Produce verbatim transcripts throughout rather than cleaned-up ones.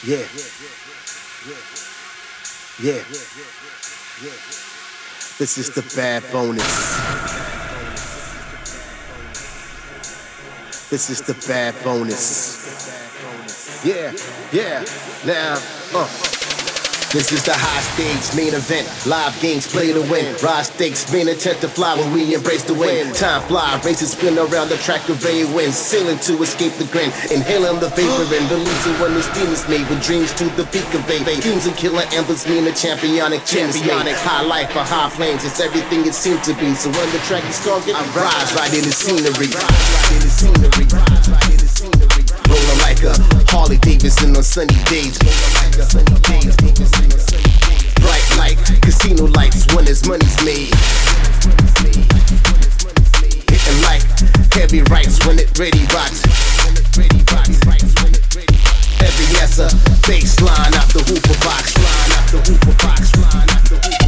Yeah. Yeah. This is the bad bonus. This is the bad bonus. Yeah, yeah, now, uh. This is the high stage main event. Live games play to win. Rise stakes, main intent to fly when we embrace the wind. Time fly, races spin around the track of a wind. Sailing to escape the grin, inhaling the vapor and releasing when this demons made. With dreams to the peak of a dreams and killer anthems mean a championic championic. High life for high planes, it's everything it seems to be. So when the track is target, I rise right in the scenery. Right in the scenery. Right in the scenery. Rolling like a Harley Davidson on sunny days. Rolling like a sunny days. Bright light, casino lights when his money's made. Hitting like heavy rights when it ready rocks. Heavy as a baseline off the hooper box. Line off the hooper box. Line off the hooper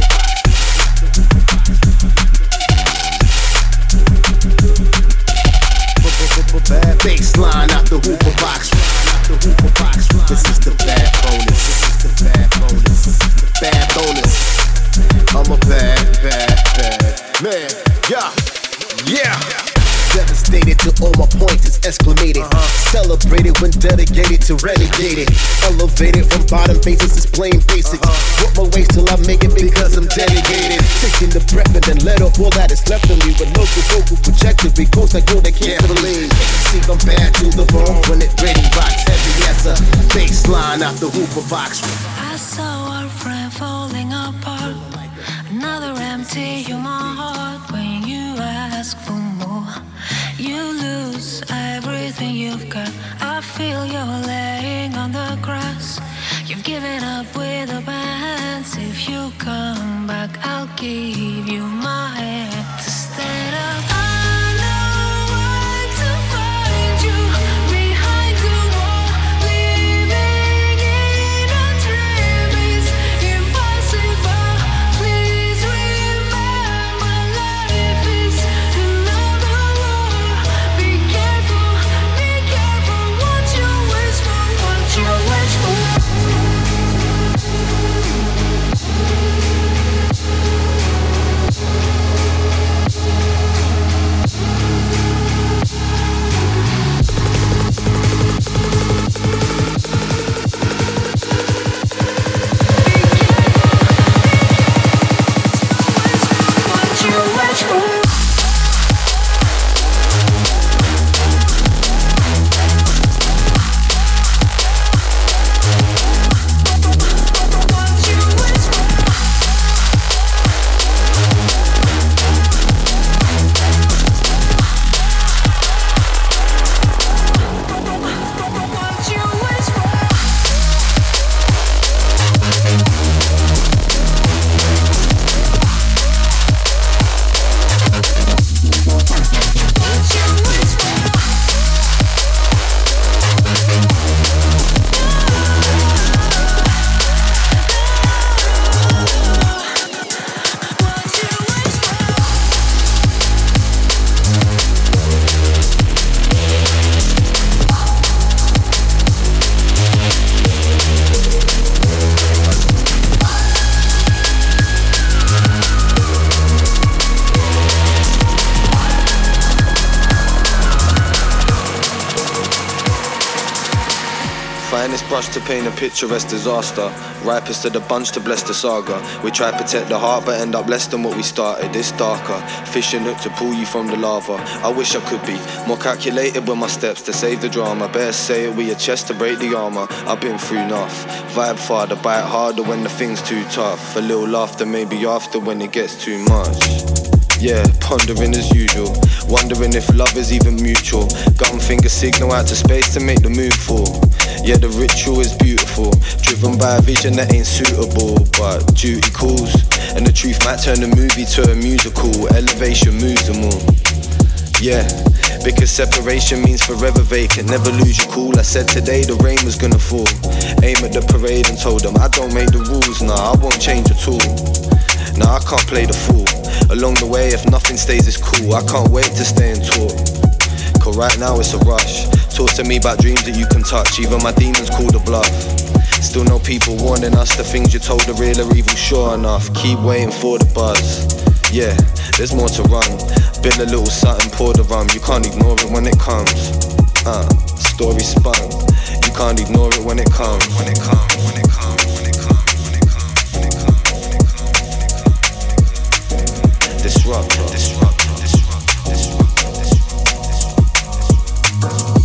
box. Baseline off the hooper box. This is the bad bonus. This is the bad bonus. Bad bonus. I'm a bad, bad, bad man. Yeah, yeah. Devastated to all my points is exclamated. Uh-huh. Celebrated when dedicated to renegated. Elevated from bottom bases is plain basics. Uh-huh. Work my ways till I make it because I'm dedicated. Taking the breath and then let off all that is left of me. With local vocal projector, because I go they can't believe. See I'm bad to the bone when it ready rocks. Heavy as a baseline off the hooper box. I saw our friend falling apart. Another empty human heart. When you ask for more, you lose everything you've got. I feel you're laying on the grass. You've given up with the bands. If you come back, I'll give you my hand to stand up. I know where to find you. Behind the wall, living in a dream is impossible. Please remember, life is another war. Be careful, be careful what you wish for, what you wish for. Brush to paint a picturesque disaster. Ripest of the bunch to bless the saga. We try to protect the heart but end up less than what we started. It's darker, fishing hook to pull you from the lava. I wish I could be more calculated with my steps to save the drama. Better say it with your chest to break the armor. I've been through enough. Vibe farther, bite harder when the thing's too tough. A little laughter maybe after when it gets too much. Yeah, pondering as usual. Wondering if love is even mutual. Gun finger signal out to space to make the move fall. Yeah, the ritual is beautiful. Driven by a vision that ain't suitable, but duty calls. And the truth might turn the movie to a musical. Elevation moves them all. Yeah, because separation means forever vacant. Never lose your cool. I said today the rain was gonna fall. Aim at the parade and told them I don't make the rules. Nah, I won't change at all. Nah, I can't play the fool. Along the way, if nothing stays, it's cool. I can't wait to stay and talk. cause right now it's a rush. Talk to me about dreams that you can touch, even my demons call the bluff. Still know people warning us the things you're told are real or evil, sure enough. Keep waiting for the buzz. Yeah, there's more to run. Build a little something, pour the rum. You can't ignore it when it comes. Uh, story spun. You can't ignore it when it comes. When it comes, when it comes, when it comes, when it comes, when it comes, when it comes, when it comes, when it comes. Disrupt, disrupt, disrupt, disrupt, disrupt.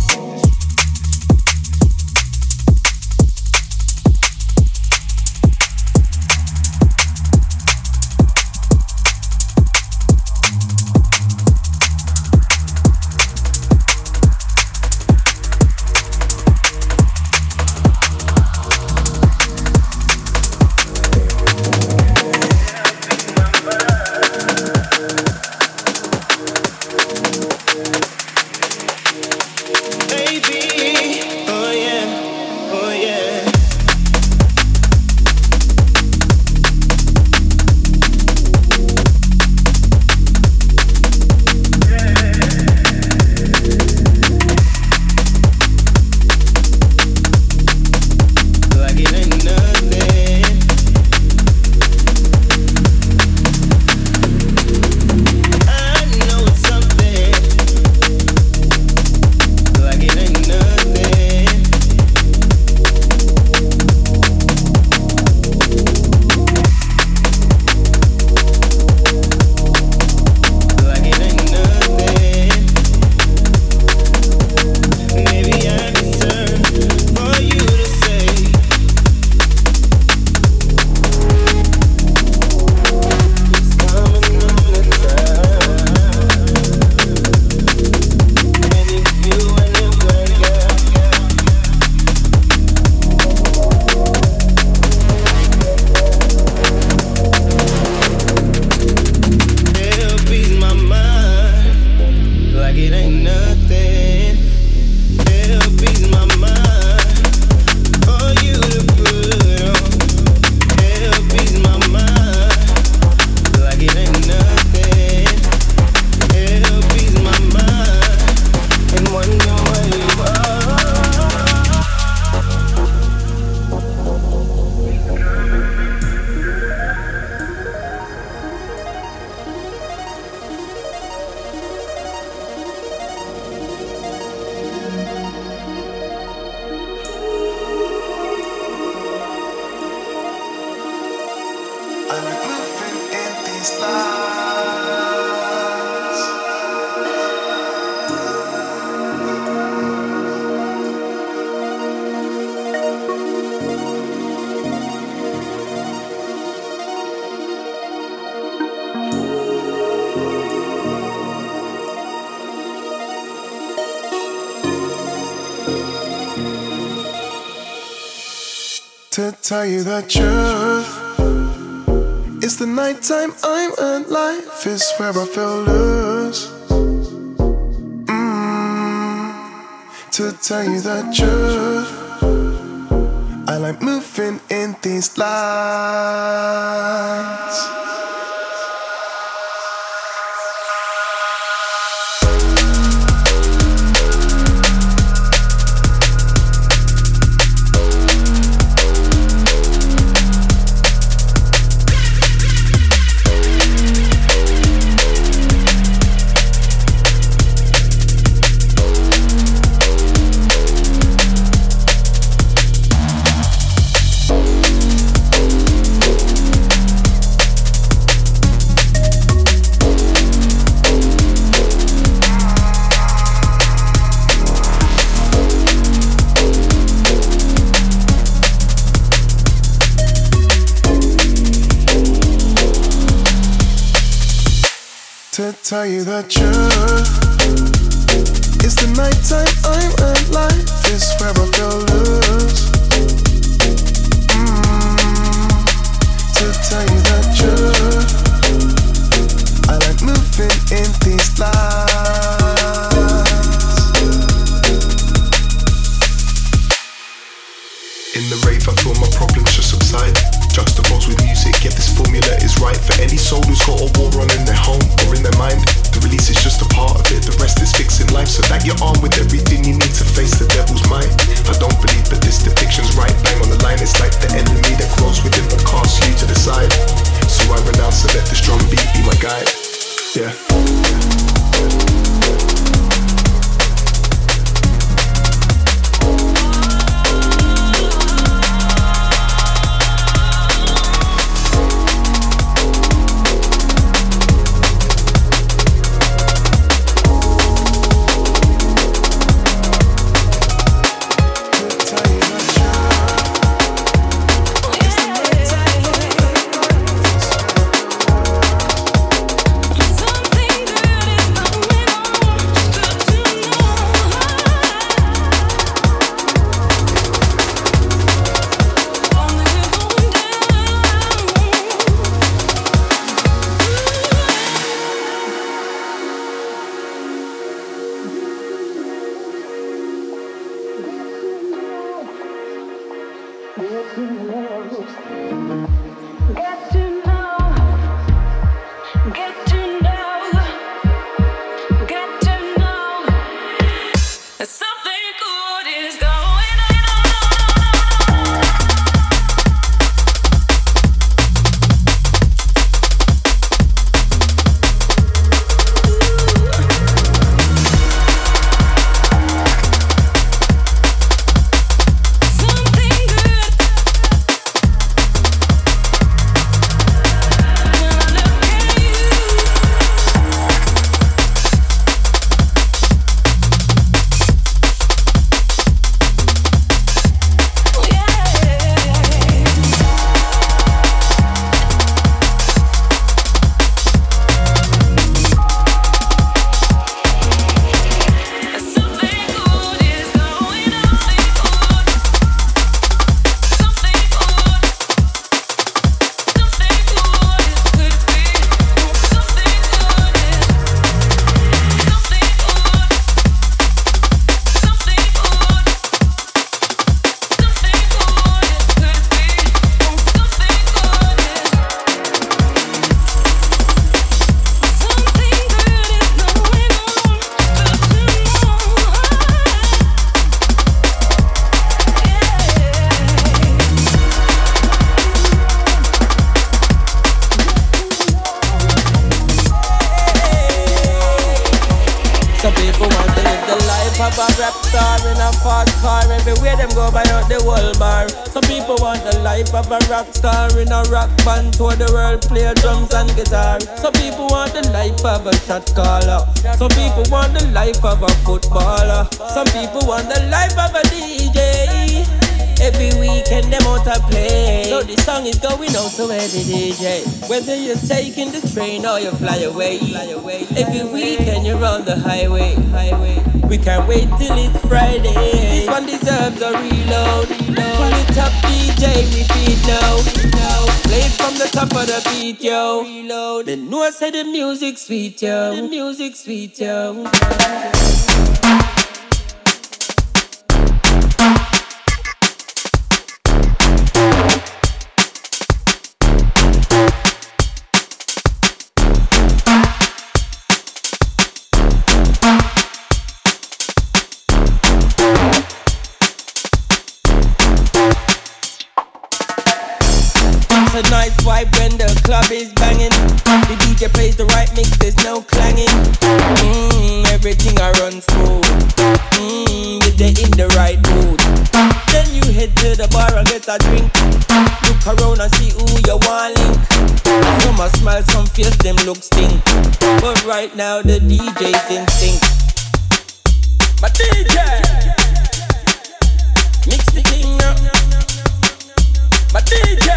To tell you the truth, it's the nighttime I'm alive, is where I feel loose. Mm. To tell you the truth, I like moving in these lights. To tell you the truth, it's the nighttime I'm alive, is where I feel loose. Mm. To tell you the truth, I like moving in these lights. In the rave I feel my problems just subside, juxtaposed with music music. If this formula is right for any soul who's got a war on in their home or in their mind, the release is just a part of it. The rest is fixing life so that you're armed with everything you need to face the devil's mind. I don't believe that this depiction's right. Bang on the line, it's like the enemy that grows within but casts you to the side. So I renounce and let this drum beat be my guide. Yeah. Whether you're taking the train or you fly away, fly away. Every weekend you're on the highway, highway. We can't wait till it's Friday. This one deserves a reload. Pull it up, D J, repeat now. Play it from the top of the beat, yo. Reload. Then know I say the music sweet, yo. The music sweet, yo. It's a nice vibe when the club is banging. The D J plays the right mix, there's no clanging. Mmm, everything I run smooth. Mmm, you're there in the right mood. Then you head to the bar and get a drink. Look around and see who you want link. Some a smile, some face, them look stink. But right now the D J's in sync. My D J mix the thing up. My D J.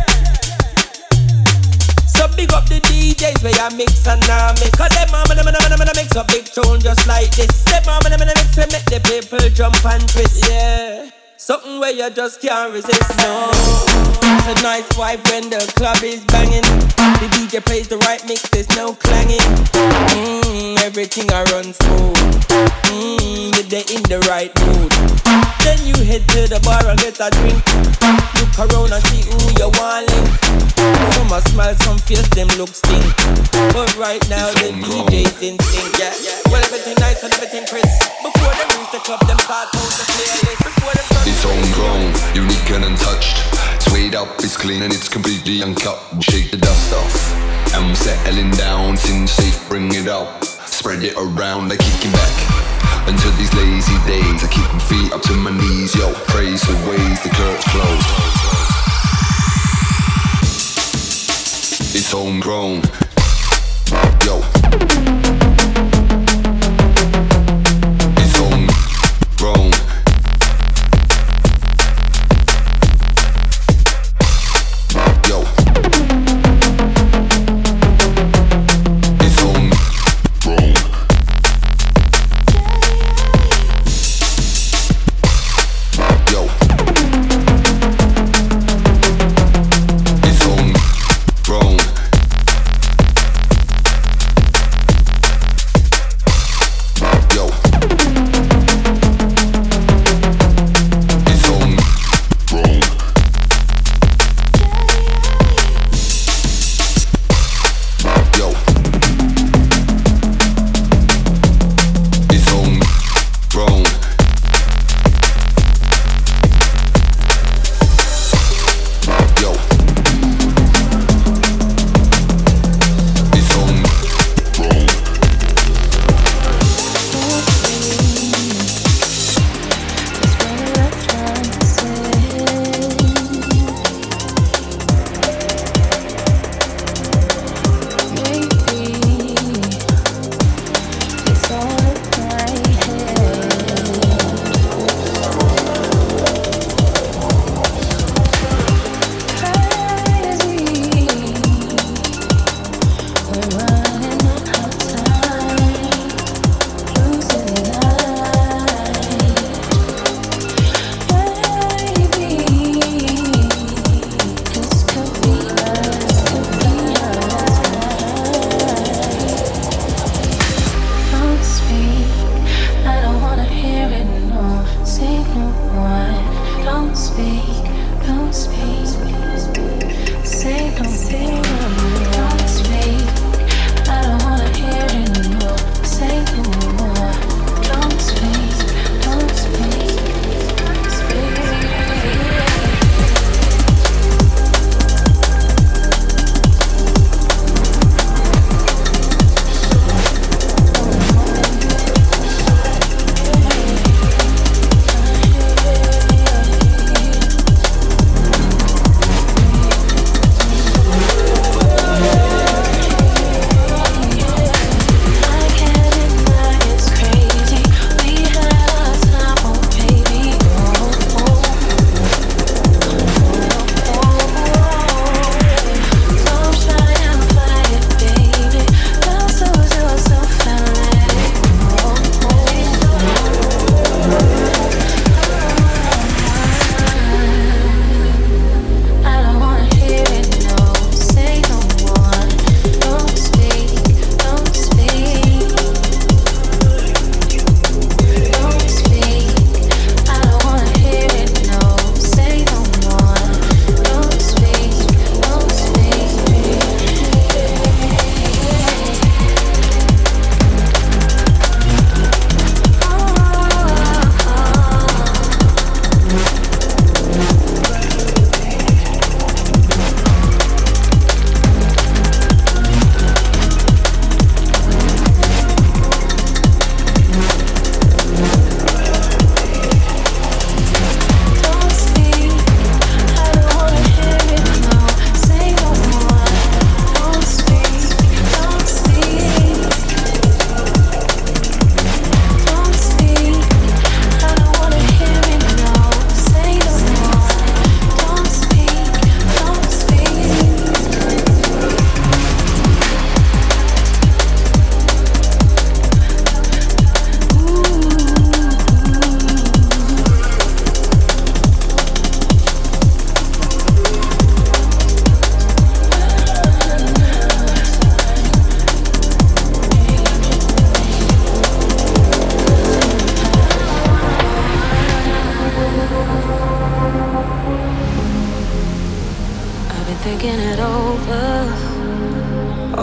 So big up the D Js where you mix and now mix. Cause them mama them them mix a big tune just like this. Them mama them mix and make the people jump and twist. Yeah, something where you just can't resist. No, it's a nice vibe when the club is banging. The D J plays the right mix, there's no clanging. Mmm, everything I run smooth. Mmm, you're there in the right mood. Then you head to the bar and get a drink. Look around and see who you want link. Some a smile, some face them look stink. But right now the D J's in sync, yeah, yeah. Well, everything nice and everything crisp. Before them reach the club, them start out the playlist. Before them start. It's homegrown, unique and untouched. Swayed up, it's clean and it's completely uncut. Shake the dust off, and we're settling down. Sin safe, bring it up. Spread it around, I kick it back. Until these lazy days, I keep my feet up to my knees. Yo, praise the ways, the curtains closed. It's homegrown. Yo. It's homegrown. Yo. It's homegrown. Yo. It's homegrown.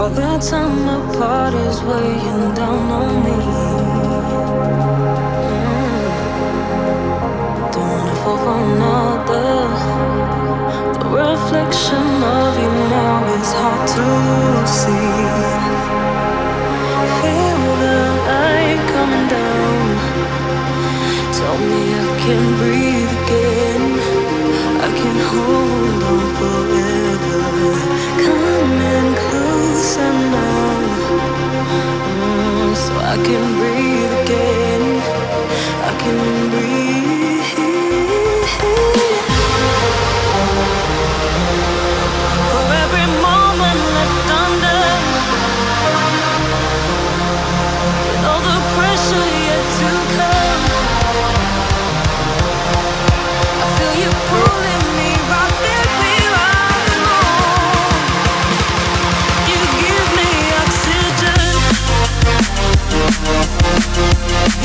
All that time apart is weighing down on me. Mm. Don't wanna fall for another. The reflection of you now is hard to see. Feel the light coming down. Tell me I can breathe again. I can hold on forever. Coming closer now, mm, so I can breathe again. I can breathe. For every moment left under, with all the pressure yet to come, I feel you pulling me right there where I belong. You give me oxygen.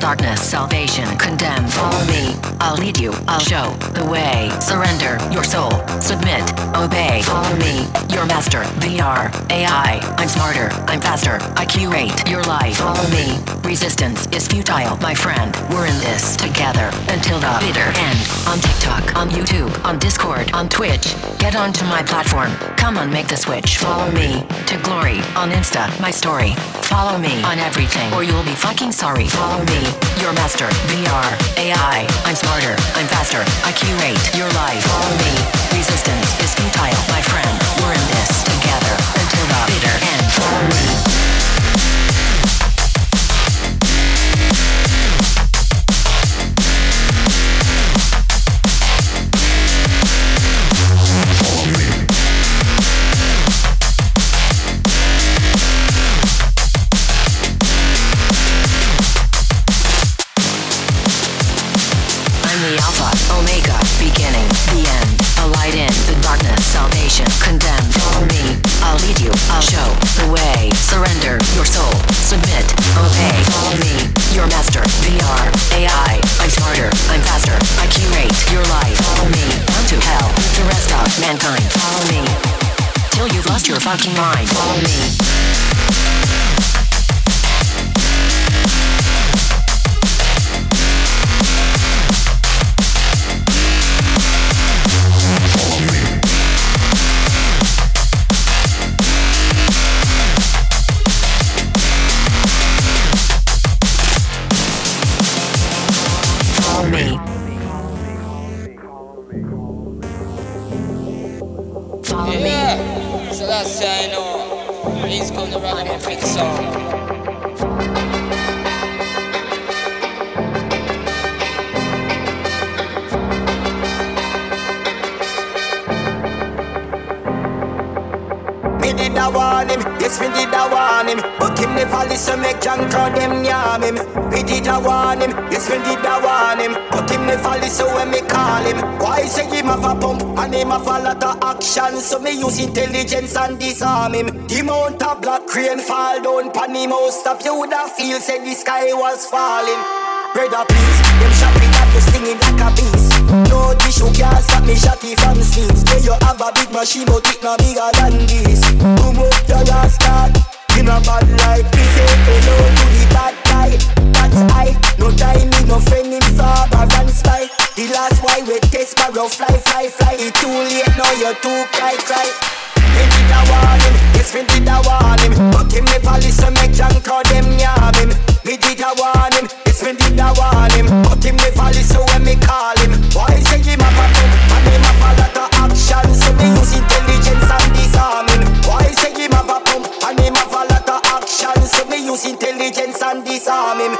darkness, salvation, condemn. Follow me, I'll lead you, I'll show the way. Surrender your soul, submit, obey. Follow me, your master, V R, A I. I'm smarter, I'm faster, I curate your life. Follow me, resistance is futile, my friend. We're in this together until the bitter end. On TikTok, on YouTube, on Discord, on Twitch. Get onto my platform, come on, make the switch. Follow me to glory on Insta, my story. Follow me on everything or you'll be fucking sorry. Follow me, your master, V R, A I. I'm smarter, I'm faster, I curate your life. Follow me, resistance is futile, my friend. We're in this together until the bitter end. Follow me. Salvation, condemn, follow me, I'll lead you, I'll show the way. Surrender your soul, submit, obey. Follow me, your master, V R, A I. I'm smarter, I'm faster, I curate your life. Follow me, on to hell, the rest of mankind. Follow me, till you've lost your fucking mind. Follow me. Yeah, so that's how I know. He's gonna run him for the song. Me did a warn him, yes me did a warn him. But him never listen, make John call them yam him. Me did a warn him, yes me did a warn him. But him never listen when me call him. Why say him have a pump and him have a lot of action? So me use intelligence and disarm him. The mount of black crane fall down pan him house. Stop you would have feel said the sky was falling. Brother please, them shopping at you stinging like a beast. No tissue can't stop me shotty from sleeves. Say you have a big machine but it no bigger than this. Boom up your last start. In a bad life, we say hello to the bad guy. That's I, no time, no friend in Faber and Spy. The last why we test barrow, fly, fly, fly. It's too late now, you're too cry, cry. Me did a warn him, yes me did a warn him. But him never listen, make John call them yam him. Me did a warn him, yes me did a warn him. But him never listen when me call him. Why say him have a pump and him have a lot of action? So me use intelligence and disarm him. Why say him have a pump and him have a lot of action? So me use intelligence and disarm him.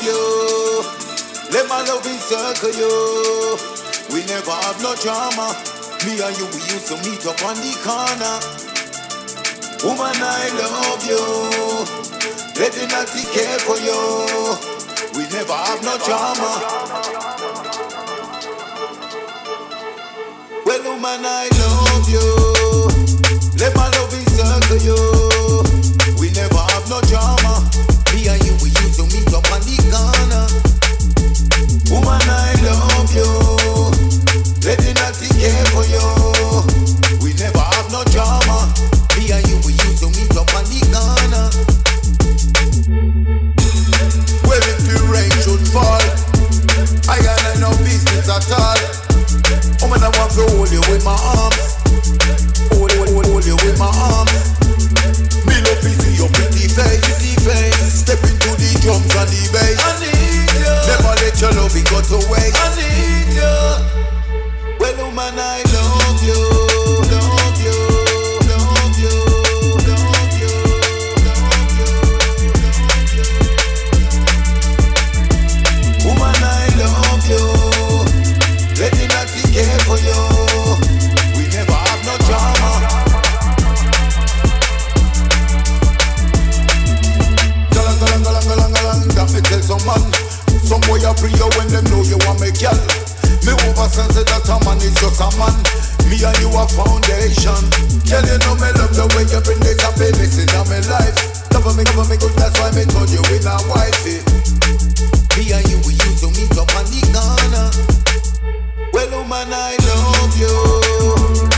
you. Let my love encircle you. We never have no drama. Me and you, we used to meet up on the corner. Woman, I love you. Let the natty care for you. We never have no drama. Well, woman, I love you. Let my love encircle you. We never have no drama. Me and you, we used to meet up on the corner. Woman, I love you. Let the natty care for you. We never have no drama. Me and you, we used to meet up on the corner. Well, if the rain should fall, I got no business at all. Woman, I want to hold you with my arms. Hold, hold, hold, hold you with my arms. Me love to see your pretty face, pretty face. Step into the drums and the bass. I need you. Never let your love go to waste. I need you. Well, woman, I love you, love you, love you, love you, love you, love you. Woman, I love you. Let me not care for you. We never have no drama. Galang, galang, galang, galang, galang. That me tell some man. Some boy a free you when them know you want me girl. Me oversense that a man is just a man. Me and you a foundation. Girl, you know me love the way you bring this happiness in my life. Love me, love me good, that's why me told you in a wifey. Me and you, we used to meet up on the corner. Well, woman, I love you.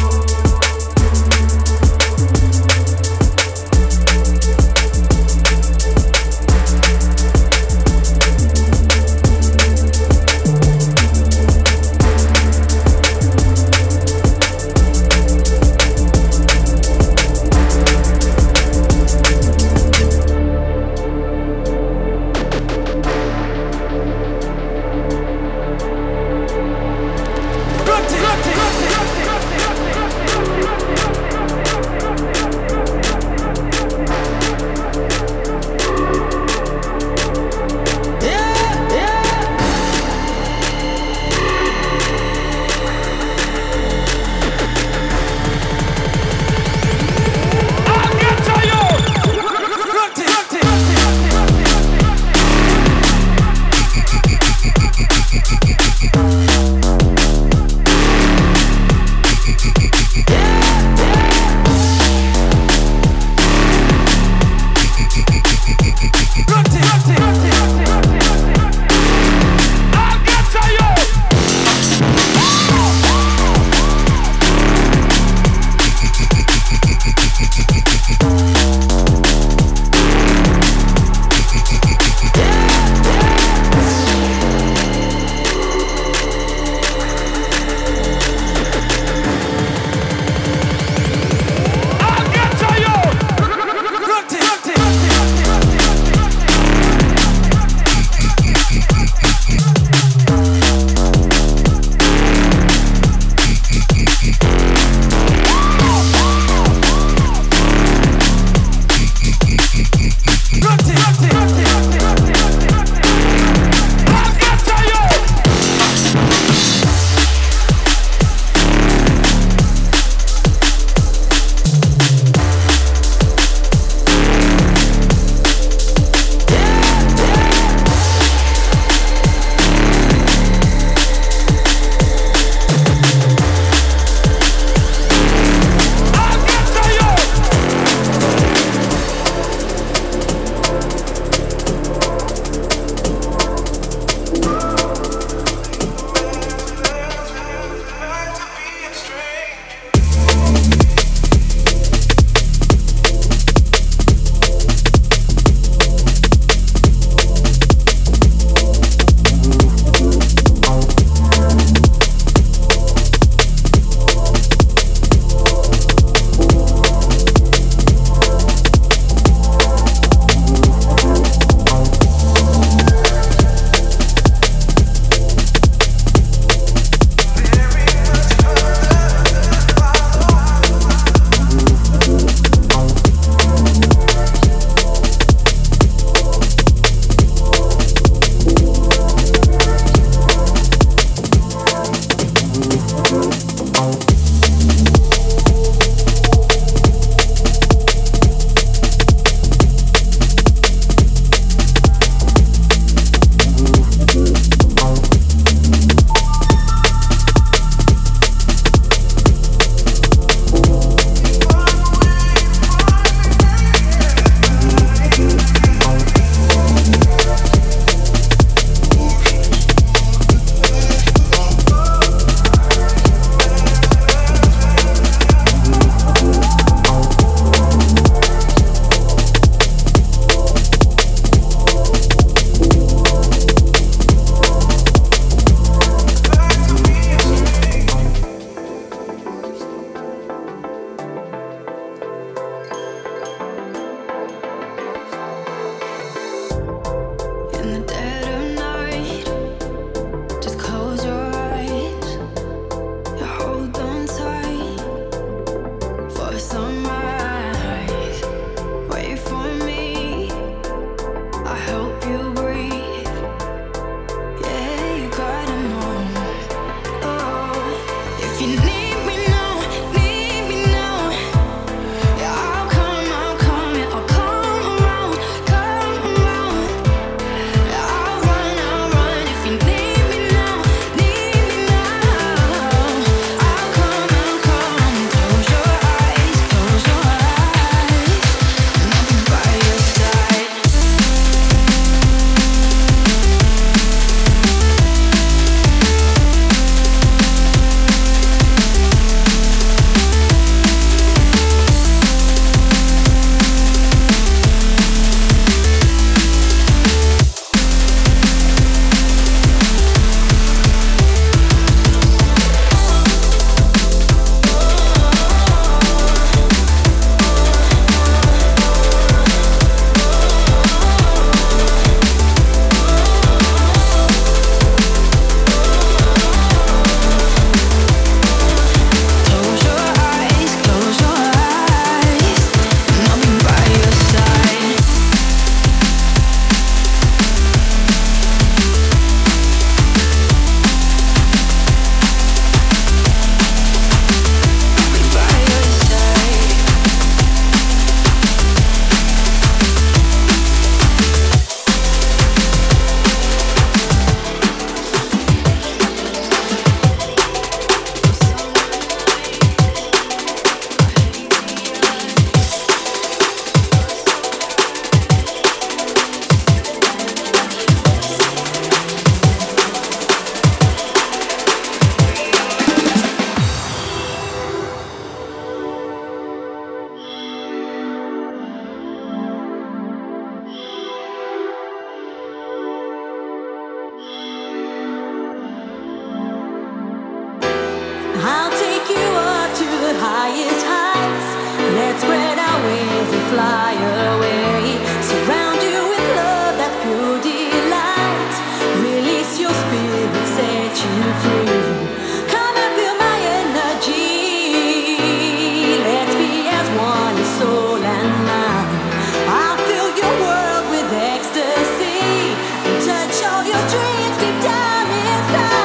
highest heights. Let's spread our wings and fly away. Surround you with love, that's pure delight. Release your spirit, set you free. Come and feel my energy. Let's be as one in soul and mind. I'll fill your world with ecstasy and touch all your dreams deep down inside.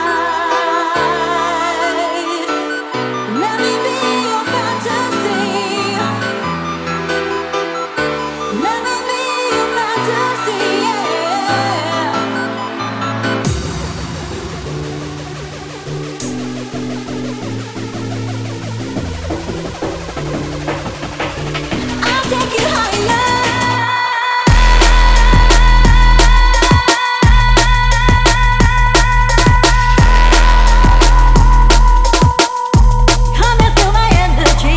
Let me be your fantasy. Let me be your fantasy, yeah. I'll take you higher. Come and feel my energy.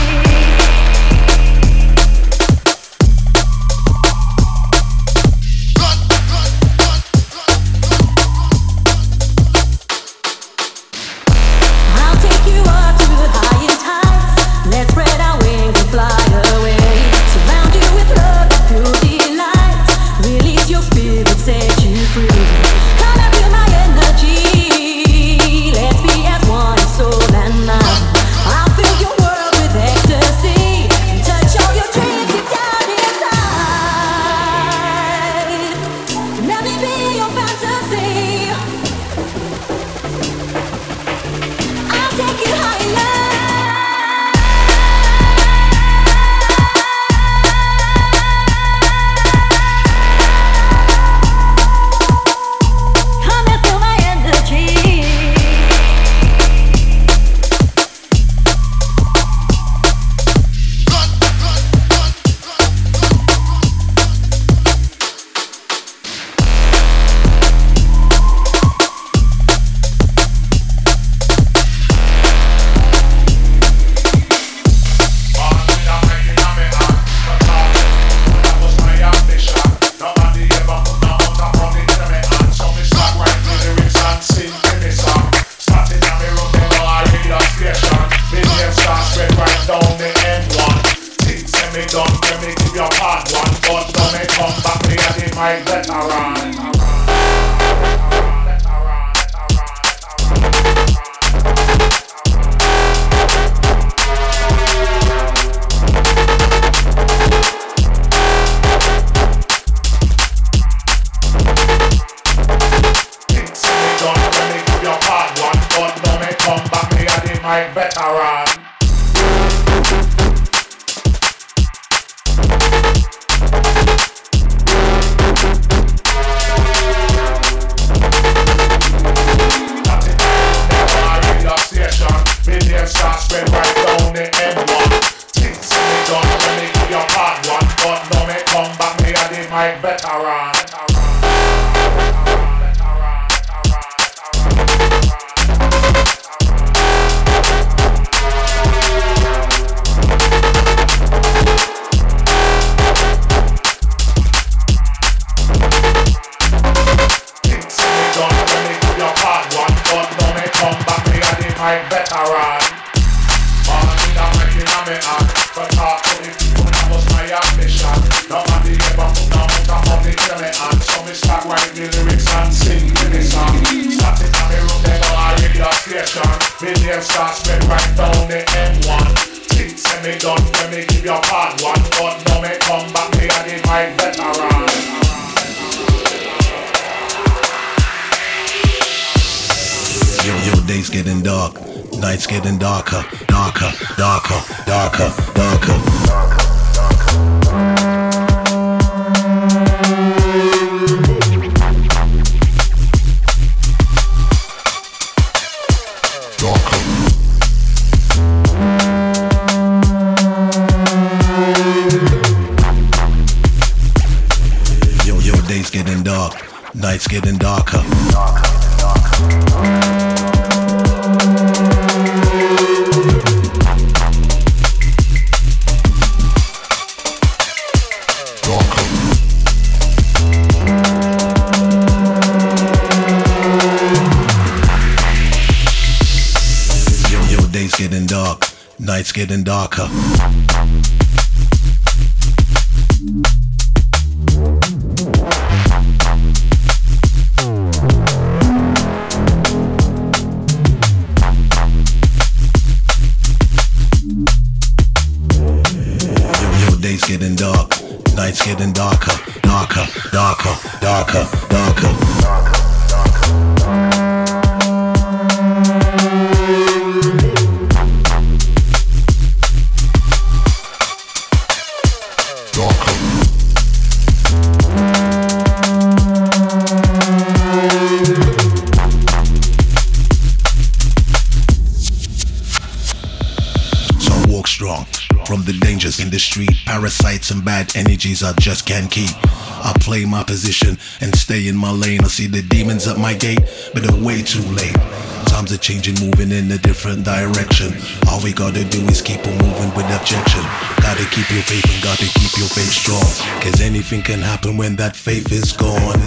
I'll take you up to the highest heights. Let's spread our wings and fly away. Surround you with love, pure delight. Release your spirit, set you free. Come and feel my energy. Let's be as one in soul and mind. I'll fill your world with ecstasy and touch all your dreams deep down inside. Let me be your fantasy. I'll take you higher. Come and feel my energy. Days getting dark, nights getting darker, darker, darker, darker, darker. Yo, yo, days getting dark, nights getting darker. Night's getting darker. Day's getting dark, night's getting darker, darker, darker, darker, darker. So walk strong. From the dangers in the street, parasites and bad energies I just can't keep. I play my position and stay in my lane. I see the demons at my gate, but they're way too late. Times are changing, moving in a different direction. All we gotta do is keep on moving with objection. Gotta keep your faith and gotta keep your faith strong. Cause anything can happen when that faith is gone.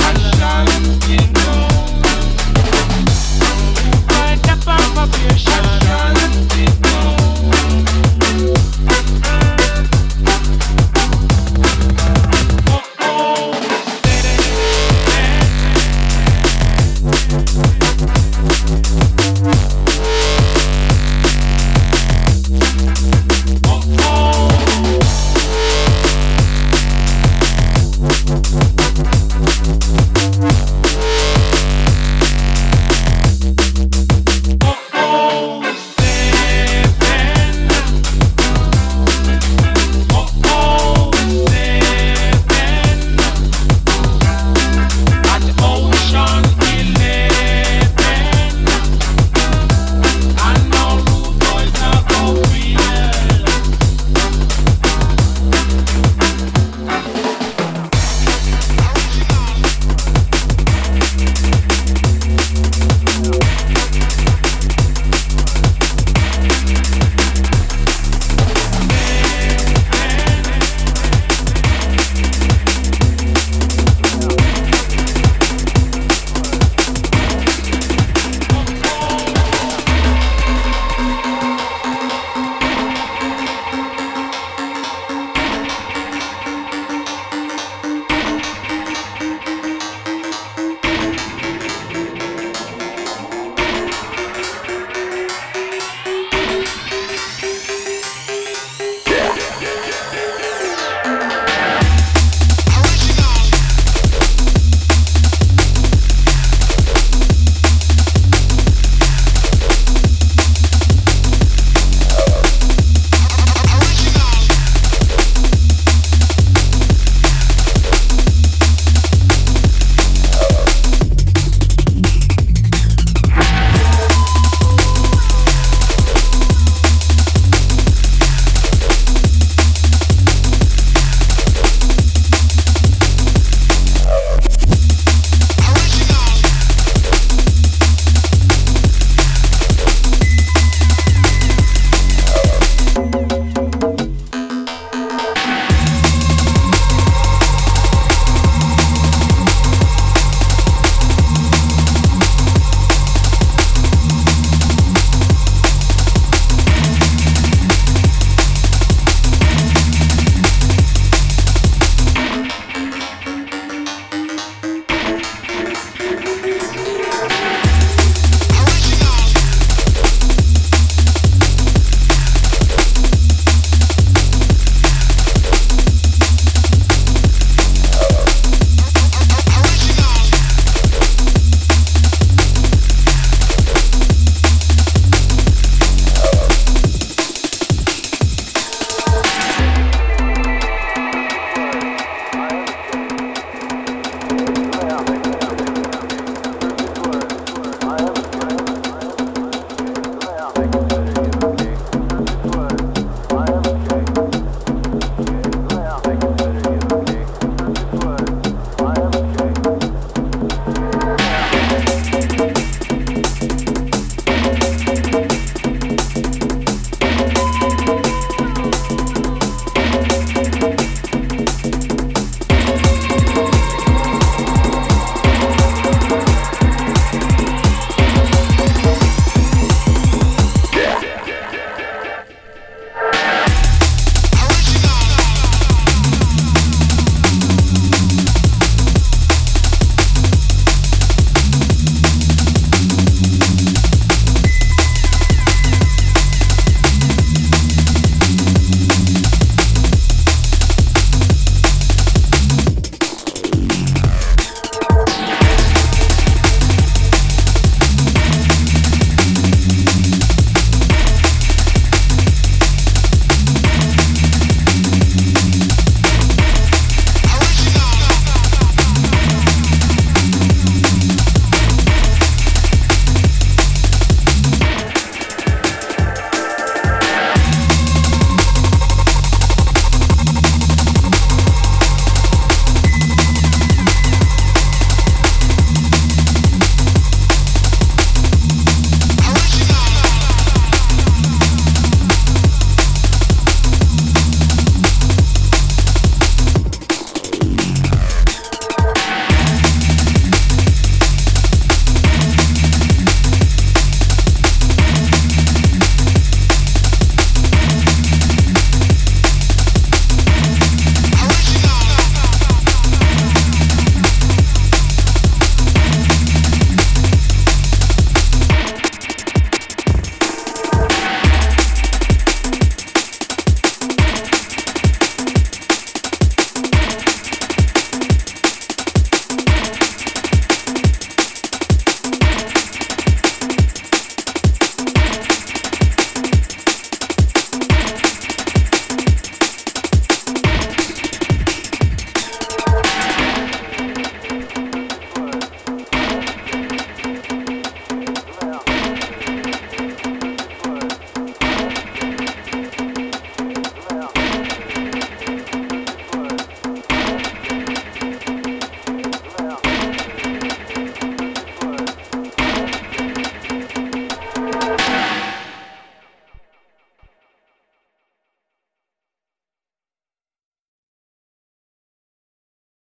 Action.